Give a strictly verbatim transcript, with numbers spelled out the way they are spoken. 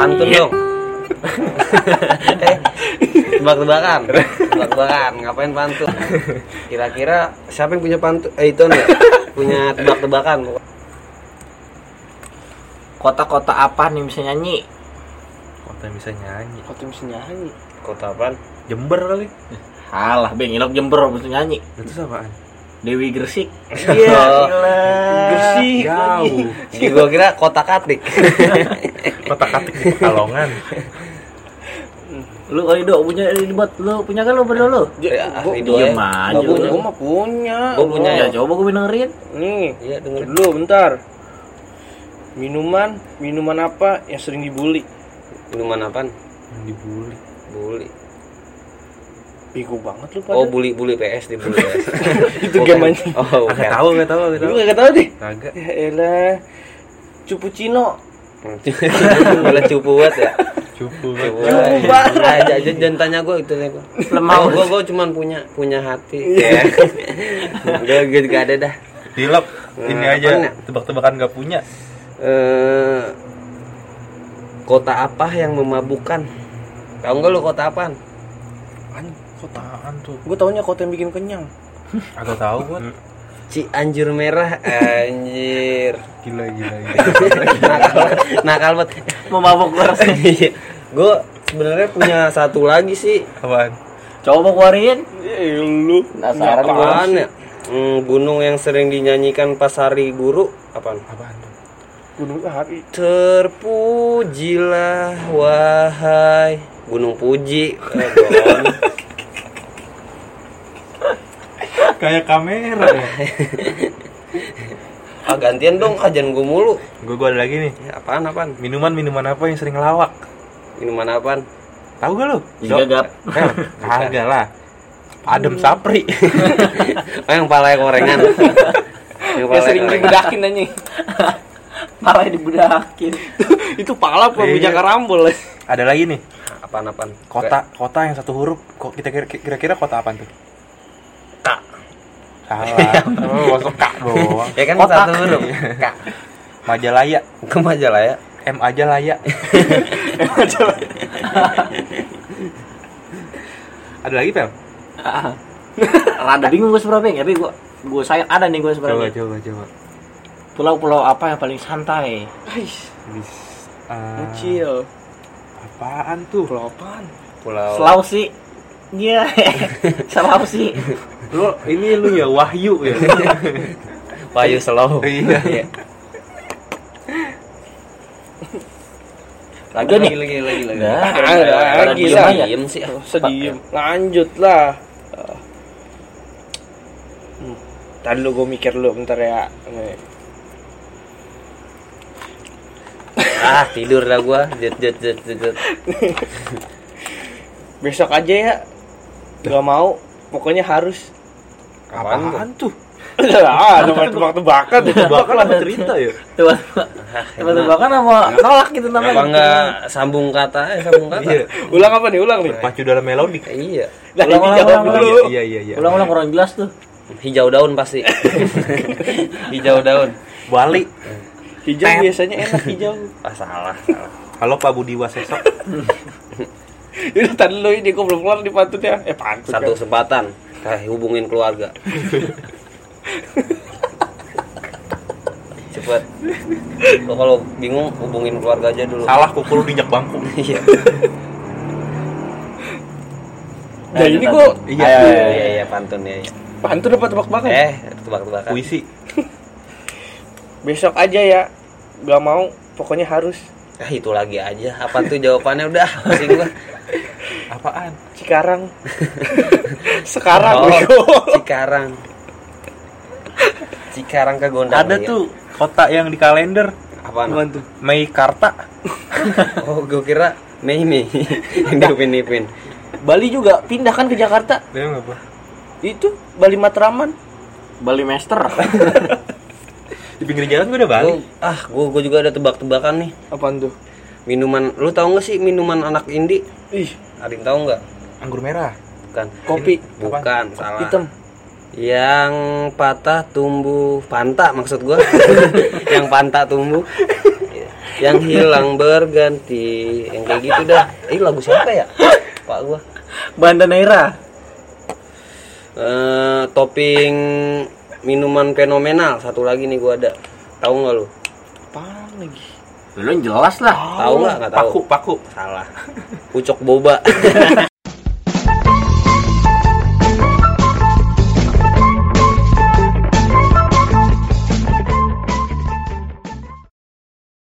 Pantun dong. eh, tebak-tebakan. Tebak-tebakan, ngapain pantun? Kira-kira siapa yang punya pantun? Eh itu nih, punya tebak-tebakan. Kota-kota apa nih bisa nyanyi? Kota yang bisa nyanyi. Kota bisa nyanyi. Kota apaan? Jember kali. Halah, Bang, Ilok Jember bisa nyanyi. Itu apaan? Dewi Gresik. Iya, Gresik. Jauh. Gue kira kota Katik. Kota Katik di Pekalongan. Lu kali dok punya buat lu punya kan lu berdua lu? Ya, Gua itu diem ya. aja. Gua gua mah punya. Gua punya Ya coba gue dengerin. Nih, Iya, denger. dulu bentar. Minuman, minuman apa yang sering dibully? Minuman apaan? Yang dibully. Buli. Bego banget lu pada. Oh, buli buli P S di buli P S. Itu game anjing. Oh, Enggak bukan. tahu, enggak tahu, enggak Lu tahu. enggak tahu deh. Kagak. Ya elah. Cupucino. Malah cupu banget ya. Cupu. Cupu Cupu banget. Aja aja jangan tanya gue itu nih gue. Lemah. Gue gue cuman punya punya hati. Ya. Gue gue juga ada dah. Dilap. Ini Nah, aja apaan ya? tebak-tebakan enggak punya. Eh, kota apa yang memabukkan? Tahu nggak lu kota apaan? Kotaan tuh. Gua taunya kota yang bikin kenyang. Agak tahu gua. Cianjur Merah, anjir. Gila gila gila. nakal, nakal banget. Mau mabuk keras. Gue sebenarnya punya satu lagi sih. Apaan? Coba keluarin. Eh lu. Penasaran gua. Apaan ya? Hmm, gunung yang sering dinyanyikan pas hari guru apaan? Apaan tuh? Gunung Hari. Terpujilah wahai Gunung Puji. Eh, bohong. Kayak kamera ya. Ah gantian dong, ajan gue mulu. Gua gua ada lagi nih. Ya, apaan apaan? Minuman-minuman apa yang sering ngelawak? Minuman apaan? Tahu gak lu? Juga gap. Eh, kagak lah. Adem Sapri. Oh, yang palanya korengan. Yang Yang sering dibedakin anjing. Malah dibudakin. Itu pala apa Iya. bijak karambol. Ada lagi nih. Apaan apaan? Kota kota yang satu huruf. Kok kita kira- kira-kira kota apaan tuh? Kak. Salah. Oh, masuk Kak doang. Ya kan Kota. satu huruf. Kak. Majalaya. Ke Majalaya. M aja layak. Ada lagi, Pel? Rada bingung gue sebenarnya, tapi gue gue sayang ada nih gue Coba sebenarnya. coba coba. Pulau-pulau apa yang paling santai? Ais, Bis, uh, kecil. apaan tuh? Pulau apaan? Pulau Sulawesi. Iya. Sulawesi. Lu ini lu ya Wahyu ya. Payu Slow. Iya. Lagi nih. lagi lagi lagi. Nah, Ah, pada lagi diem lah. aja. Diem sih. Sedih. Lanjut lah. Hmm. Tadi lu gue mikir lu bentar ya. Nih. Ah, tidur lah gua. Jet jet jet jet. jet. Besok aja ya. Gak mau. Pokoknya harus. Apaan tuh? Apaan tuh? Ah, nomor tebak-tebakan. Bahkan ada cerita ya. Tiba-tiba kan sama nolak gitu namanya. Apa enggak sambung kata? Eh, sambung kata. Iya. Ulang apa nih? Ulang nih. Pacu dalam melodi. Iya. Nah, Ulang, ini ulang, jawab ulang, dulu. Iya iya iya. Ulang-ulang kurang jelas tuh. Hijau daun pasti. Hijau daun. Bali. Hijau biasanya enak hijau. Ah, salah, salah. Halo Pak Budi Waseso. Ini tadi lu ini kok belum keluar di pantutnya. Eh pantut. Satu Kan. kesempatan. Kayak hubungin keluarga. Cepet. Lo kalau bingung hubungin keluarga aja dulu. Salah pukul diinjak bangku. Iya. Nah, ini kok Iya, iya, iya, iya, pantun ya. Iya. pantun apa tebak-tebakan? Eh, tebak-tebakan. Puisi. Besok aja ya. Gak mau, pokoknya harus. Ah, itu lagi aja. Apa tuh jawabannya udah? Pusing gua. Apaan? Cikarang. Sekarang Oh, bego. Cikarang. Cikarang ke Gondang. Ada iya. tuh kota yang di kalender. Apaan? Apaan tuh? Meikarta. Oh, gue kira Mei Mei yang diupin-ipin. Bali juga pindah kan ke Jakarta. Dia apa? Itu Bali Matraman. Bali Master. Di pinggir jalan gue udah Bali. Gua, ah, gue gue juga ada tebak-tebakan nih. Apaan tuh? Minuman, lu tahu nggak sih minuman anak indie? Ih, Ada yang tahu nggak? Anggur merah. Bukan. kopi Bukan, salah. hitam. Yang patah tumbuh panta maksud gua. Yang panta tumbuh. Yang hilang berganti, yang kayak gitu dah. Eh lagu siapa ya? Pak gua. Banda Naira. Eh, topping minuman fenomenal satu lagi nih gua ada. Tahu nggak lu? Apaan lagi? Lu jelas lah. Tahu nggak? Nggak tahu. Paku, paku. Salah. Pucok boba.